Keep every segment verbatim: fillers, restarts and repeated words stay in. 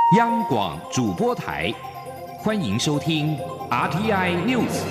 央广主播台，欢迎收听 R T I News。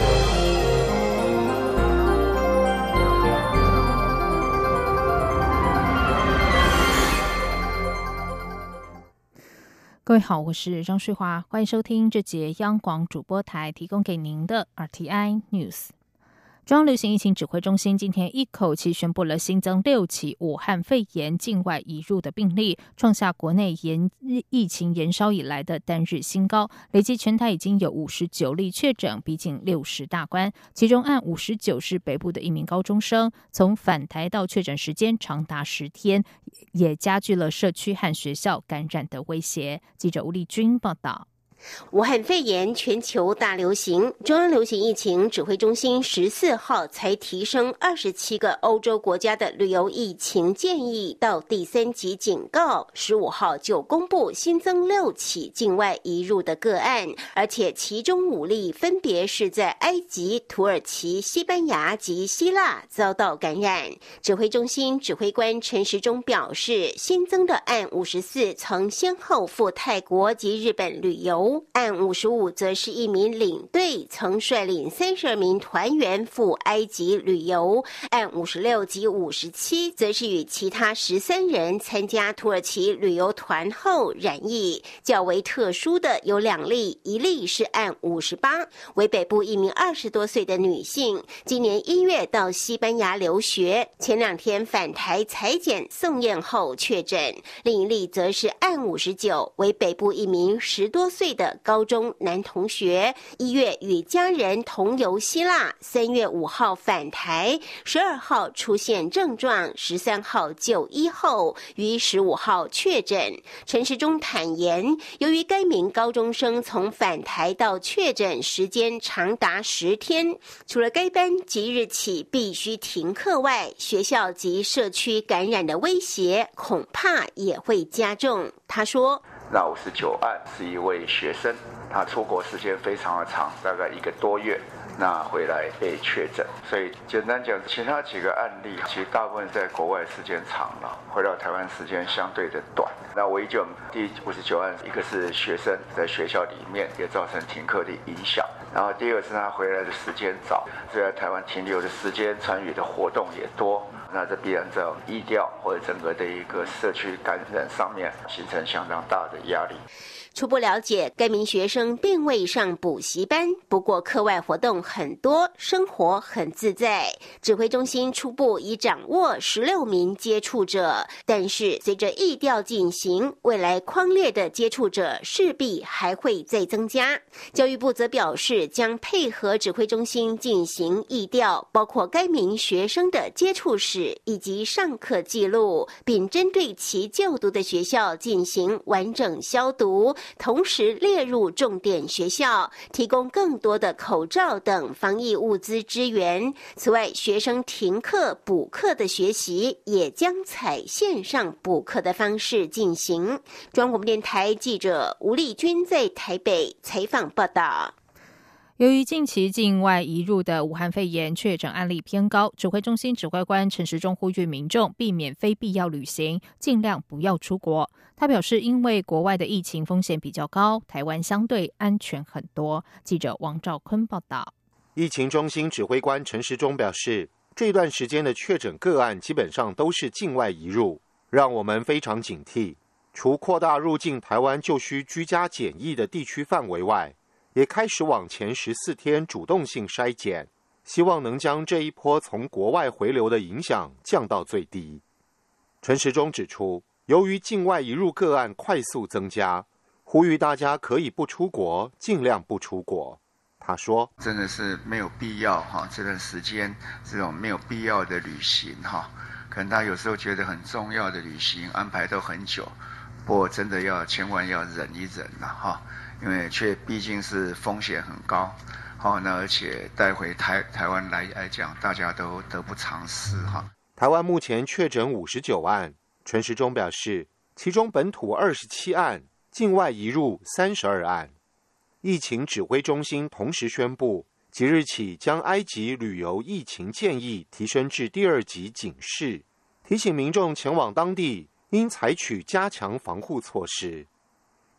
各位好，我是张翠华，欢迎收听这节央广主播台提供给您的 R T I News。中央流行疫情指挥中心今天一口气宣布了新增六起武汉肺炎境外移入的病例，创下国内延疫情延烧以来的单日新高，累计全台已经有五十九例确诊，逼近六十大关。其中案五十九是北部的一名高中生，从返台到确诊时间长达十天，也加剧了社区和学校感染的威胁。记者吴丽君报道。 武汉肺炎全球大流行，中央流行疫情指挥中心十四号才提升二十七个欧洲国家的旅游疫情建议到第三级警告，十五号就公布新增六起境外移入的个案，而且其中五例分别是在埃及、土耳其、西班牙及希腊遭到感染。指挥中心指挥官陈时中表示，新增的案五十四曾先后赴泰国及日本旅游，案五十五则是一名领队曾率领三十二名团员赴埃及旅游，案五十六及五十七则是与其他十三人参加土耳其旅游团后染疫。较为特殊的有两例，一例是案五十八，为北部一名二十多岁的女性，今年一月到西班牙留学，前两天返台采检送验后确诊。另一例则是案五十九，为北部一名十多岁的高中男同学，一月与家人同游希腊，三月五号返台，十二号出现症状，十三号就医后于十五号确诊。陈时中坦言，由于该名高中生从返台到确诊时间长达十天，除了该班即日起必须停课外，学校及社区感染的威胁恐怕也会加重。他说， 那五十九案是一位学生，他出国时间非常的长，大概一个多月，那回来被确诊。所以简单讲，其他几个案例其实大部分在国外时间长了，回到台湾时间相对的短。那唯一就第五十九案，一个是学生在学校里面也造成停课的影响，然后第二个是他回来的时间早，所以在台湾停留的时间、参与的活动也多。那这必然在疫调或者整个的一个社区感染上面形成相当大的压力。 初步了解，该名学生并未上补习班，不过课外活动很多，生活很自在。指挥中心初步已掌握十六名接触者，但是随着疫调进行，未来匡列的接触者势必还会再增加。教育部则表示，将配合指挥中心进行疫调，包括该名学生的接触史以及上课记录，并针对其就读的学校进行完整消毒，同时列入重点学校，提供更多的口罩等防疫物资支援。此外，学生停课补课的学习也将采线上补课的方式进行。中央广播电台记者吴丽君在台北采访报道。 由于近期境外移入的武汉肺炎确诊案例偏高，指挥中心指挥官陈时中呼吁民众避免非必要旅行，尽量不要出国。他表示，因为国外的疫情风险比较高，台湾相对安全很多。记者王兆坤报道。 疫情中心指挥官陈时中表示，这段时间的确诊个案基本上都是境外移入，让我们非常警惕。除扩大入境台湾就需居家检疫的地区范围外，也开始往前十四天主动性筛检，希望能将这一波从国外回流的影响降到最低。陈时中指出，由于境外移入个案快速增加，呼吁大家可以不出国，尽量不出国。他说， 真的是没有必要哈，这段时间这种没有必要的旅行哈，可能大家有时候觉得很重要的旅行安排都很久，不过真的要千万要忍一忍了哈。因为却毕竟是风险很高，好，那而且带回台台湾来来讲，大家都得不偿失哈。 台湾目前确诊五十九案，陈时中表示，其中本土二十七案，境外移入三十二案。疫情指挥中心同时宣布，即日起将埃及旅游疫情建议提升至第二级警示，提醒民众前往当地应采取加强防护措施。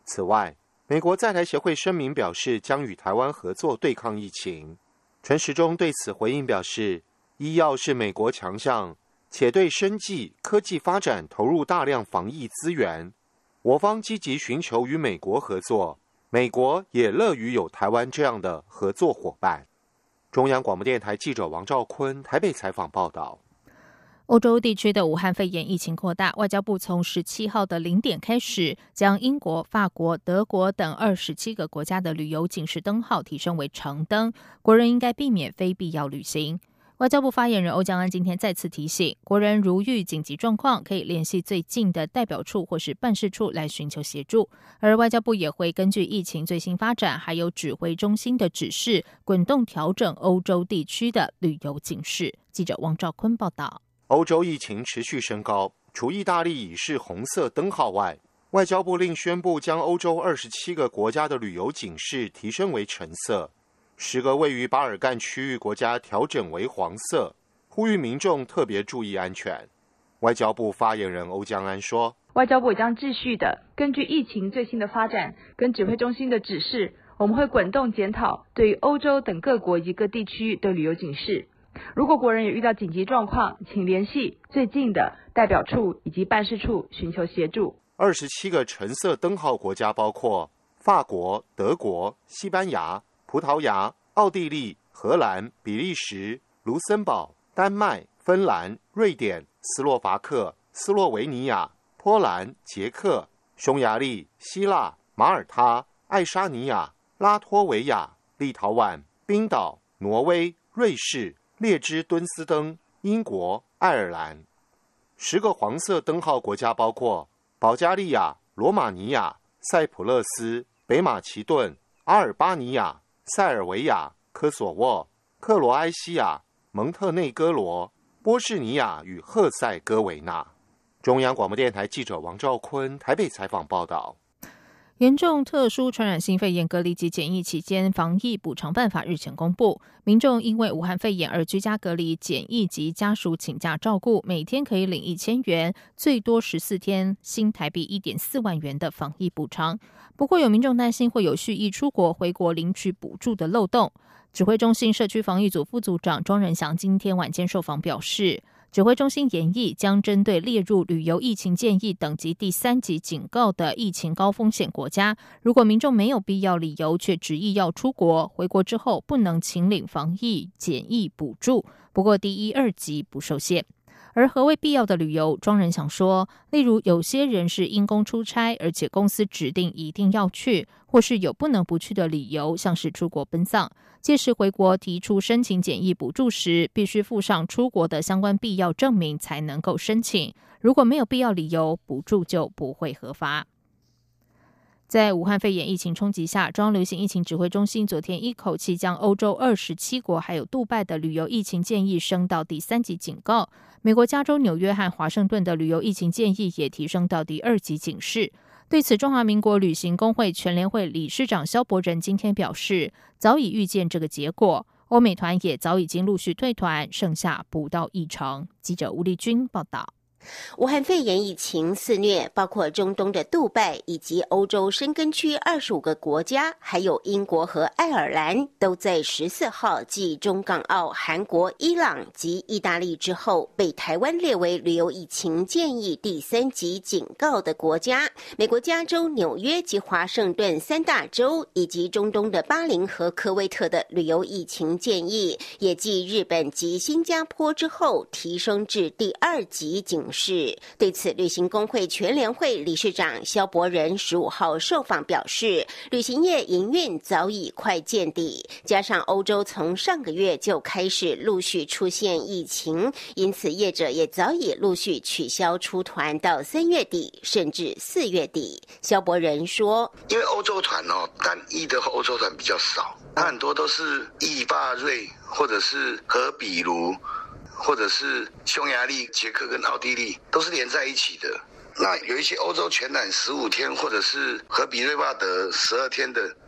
此外，美国在台协会声明表示，将与台湾合作对抗疫情。陈时中对此回应表示，医药是美国强项，且对生技科技发展投入大量防疫资源，我方积极寻求与美国合作，美国也乐于有台湾这样的合作伙伴。中央广播电台记者王兆坤台北采访报道。 欧洲地区的武汉肺炎疫情扩大，外交部从十七号的零点开始，将英国、法国、德国等二十七个国家的旅游警示灯号提升为橙灯，国人应该避免非必要旅行。外交部发言人欧江安今天再次提醒，国人如遇紧急状况，可以联系最近的代表处或是办事处来寻求协助。而外交部也会根据疫情最新发展，还有指挥中心的指示，滚动调整欧洲地区的旅游警示。记者王兆坤报道。 欧洲疫情持续升高，除意大利已是红色灯号外，外交部另宣布将欧洲二十七个国家的旅游警示提升为橙色，十个位于巴尔干区域国家调整为黄色，呼吁民众特别注意安全。外交部发言人欧江安说， 外交部也将继续的根据疫情最新的发展跟指挥中心的指示，我们会滚动检讨对于欧洲等各国以及各地区的旅游警示。如果国人有遇到紧急状况，请联系最近的代表处以及办事处寻求协助。 二十七个橙色灯号国家包括法国、德国、西班牙、葡萄牙、奥地利、荷兰、比利时、卢森堡、丹麦、芬兰、瑞典、斯洛伐克、斯洛维尼亚、波兰、捷克、匈牙利、希腊、马耳他、爱沙尼亚、拉脱维亚、立陶宛、冰岛、挪威、瑞士、列支敦斯登、英国、爱尔兰。十个黄色灯号国家包括保加利亚、罗马尼亚、塞浦路斯、北马其顿、阿尔巴尼亚、塞尔维亚、科索沃、克罗埃西亚、蒙特内哥罗、波士尼亚与赫塞哥维那。中央广播电台记者王兆坤台北采访报道。 严重特殊传染性肺炎隔离及检疫期间防疫补偿办法日前公布，民众因为武汉肺炎而居家隔离、检疫及家属请假照顾，每天可以领一千元，最多十四天，新台币一点四万元的防疫补偿。不过有民众担心会有蓄意出国回国领取补助的漏洞。指挥中心社区防疫组副组长庄仁祥今天晚间受访表示，指挥中心研议将针对列入旅游疫情建议等级第三级警告的疫情高风险国家，如果民众没有必要理由却执意要出国，回国之后不能请领防疫检疫补助，不过第一、二级不受限。而何谓必要的旅游，庄仁祥说，例如有些人是因公出差，而且公司指定一定要去，或是有不能不去的理由，像是出国奔丧，届时回国提出申请检疫补助时，必须附上出国的相关必要证明才能够申请，如果没有必要理由，补助就不会核发。在武汉肺炎疫情冲击下，中央流行疫情指挥中心昨天一口气将欧洲二十七国还有杜拜的旅游疫情建议升到第三级警告，美国加州纽约和华盛顿的旅游疫情建议也提升到第二级警示。对此，中华民国旅行工会全联会理事长萧伯仁今天表示，早已预见这个结果，欧美团也早已经陆续退团，剩下不到一成。记者吴丽君报道。 武汉肺炎疫情肆虐，包括中东的杜拜以及欧洲申根区二十五个国家，还有英国和爱尔兰，都在十四号继中港澳、韩国、伊朗及意大利之后，被台湾列为旅游疫情建议第三级警告的国家。美国加州、纽约及华盛顿三大州，以及中东的巴林和科威特的旅游疫情建议，也继日本及新加坡之后，提升至第二级警示。对此，旅行工会全联会理事长萧伯仁十五号受访表示，旅行业营运早已快见底，加上欧洲从上个月就开始陆续出现疫情，因此业者也早已陆续取消出团到三月底甚至四月底。萧伯仁说， 因为欧洲团哦，单一的欧洲团比较少，它很多都是意法瑞或者是和比卢或者是匈牙利、捷克跟奥地利都是连在一起的。那有一些欧洲全览十五天，或者是和比瑞巴德十二天的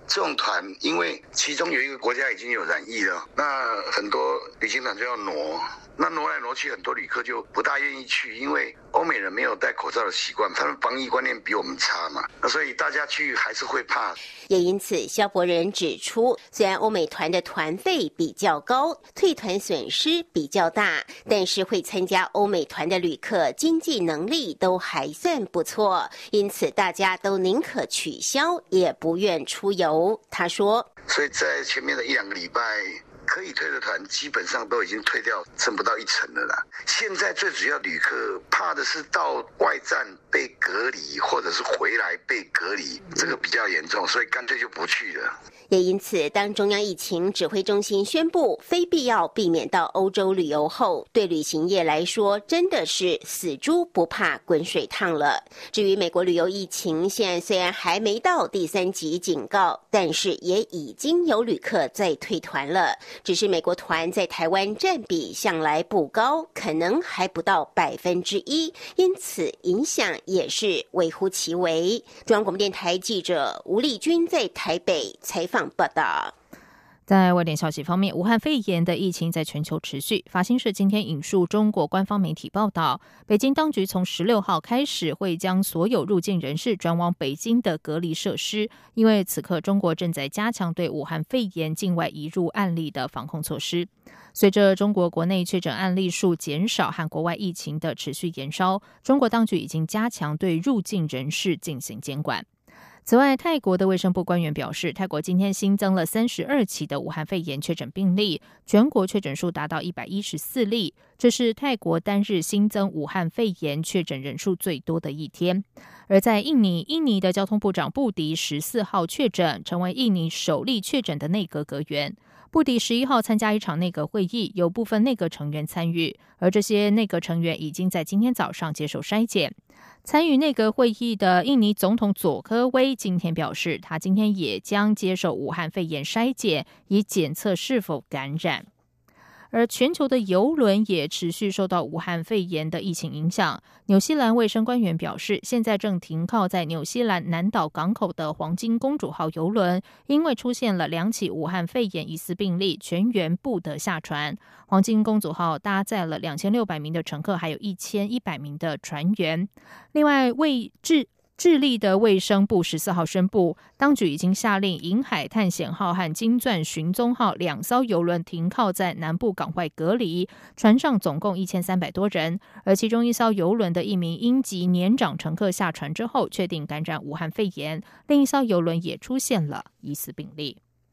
这种团，因为其中有一个国家已经有染疫了，那很多旅行团就要挪。那挪来挪去，很多旅客就不大愿意去，因为欧美人没有戴口罩的习惯，他们防疫观念比我们差嘛，那所以大家去还是会怕。 也因此，萧博仁指出，虽然欧美团的团费比较高，退团损失比较大，但是会参加欧美团的旅客经济能力都还算不错，因此大家都宁可取消，也不愿出游。他说， 所以在前面的一两个礼拜，可以退的团基本上都已经退掉，剩不到一成了啦。现在最主要旅客怕的是到外站被隔离，或者是回来被隔离，这个比较严重，所以干脆就不去了。 也因此，当中央疫情指挥中心宣布非必要避免到欧洲旅游后，对旅行业来说真的是死猪不怕滚水烫了。至于美国旅游疫情，现在虽然还没到第三级警告，但是也已经有旅客在退团了。只是美国团在台湾占比向来不高，可能还不到百分之一，因此影响也是微乎其微。中央广播电台记者吴丽君在台北采访报道。 在外电消息方面，武汉肺炎的疫情在全球持续。法新社今天引述中国官方媒体报道，北京当局从十六号开始会将所有入境人士转往北京的隔离设施，因为此刻中国正在加强对武汉肺炎境外移入案例的防控措施。随着中国国内确诊案例数减少和国外疫情的持续延烧，中国当局已经加强对入境人士进行监管。此外，泰国的卫生部官员表示，泰国今天新增了三十二起的武汉肺炎确诊病例，全国确诊数达到一百一十四例，这是泰国单日新增武汉肺炎确诊人数最多的一天。而在印尼，印尼的交通部长布迪十四号确诊，成为印尼首例确诊的内阁阁员。布迪十一号参加一场内阁会议，有部分内阁成员参与，而这些内阁成员已经在今天早上接受筛检。参与内阁会议的印尼总统佐科威今天表示，他今天也将接受武汉肺炎筛检，以检测是否感染。而全球的邮轮也持续受到武汉肺炎的疫情影响。纽西兰卫生官员表示，现在正停靠在纽西兰南岛港口的黄金公主号邮轮，因为出现了两起武汉肺炎疑似病例，全员不得下船。黄金公主号搭载了两千六百名的乘客，还有一千一百名的船员。另外，为智智利的卫生部十四号宣布，当局已经下令银海探险号和金钻寻踪号两艘邮轮停靠在南部港外隔离，船上总共一千三百多人，而其中一艘邮轮的一名英籍年长乘客下船之后确定感染武汉肺炎，另一艘邮轮也出现了疑似病例。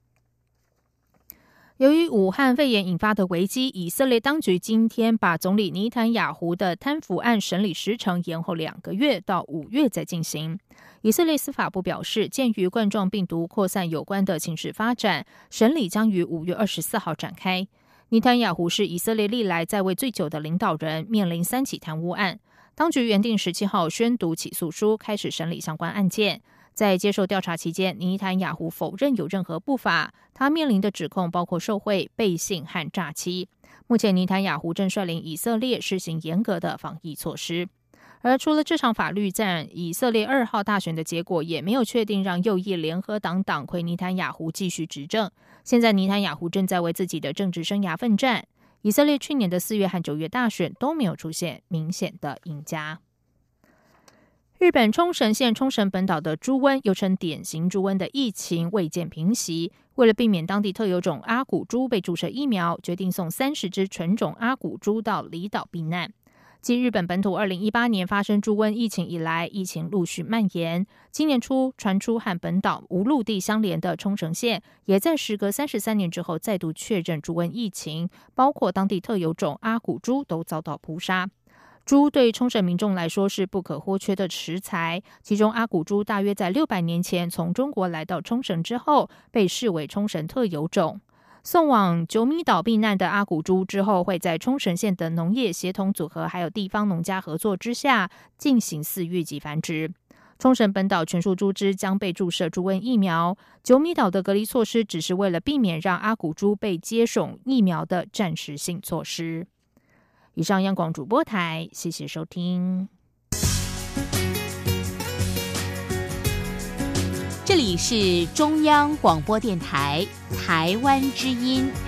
由于武汉肺炎引发的危机，以色列当局今天把总理尼坦雅胡的贪腐案审理时程延后两个月到五月再进行。以色列司法部表示，鉴于冠状病毒扩散有关的情势发展，审理将于五月二十四号展开。尼坦雅胡是以色列历来在位最久的领导人，面临三起贪污案。当局原定十七号宣读起诉书，开始审理相关案件。在接受调查期间，尼坦雅胡否认有任何不法，他面临的指控包括受贿、背信和诈欺。目前，尼坦雅胡正率领以色列施行严格的防疫措施。而除了这场法律战，以色列二号大选的结果也没有确定让右翼联合党党魁尼坦雅胡继续执政。现在，尼坦雅胡正在为自己的政治生涯奋战。以色列去年的四月和九月大选都没有出现明显的赢家。日本冲绳县冲绳本岛的猪瘟，又称典型猪瘟的疫情未见平息。为了避免当地特有种阿古猪被注射疫苗，决定送三十只纯种阿古猪到离岛避难。继日本本土二零一八年发生猪瘟疫情以来，疫情陆续蔓延。今年初传出和本岛无陆地相连的冲绳县，也在时隔三十三年之后再度确认猪瘟疫情，包括当地特有种阿古猪都遭到扑杀。猪对冲绳民众来说是不可或缺的食材，其中阿古猪大约在六百年前从中国来到冲绳之后，被视为冲绳特有种。送往九米岛避难的阿古猪之后，会在冲绳县的农业协同组合还有地方农家合作之下进行饲育及繁殖。冲绳本岛全数猪只将被注射猪瘟疫苗。九米岛的隔离措施只是为了避免让阿古猪被接种疫苗的暂时性措施。以上央广主播台，谢谢收听。 这里是中央广播电台台湾之音。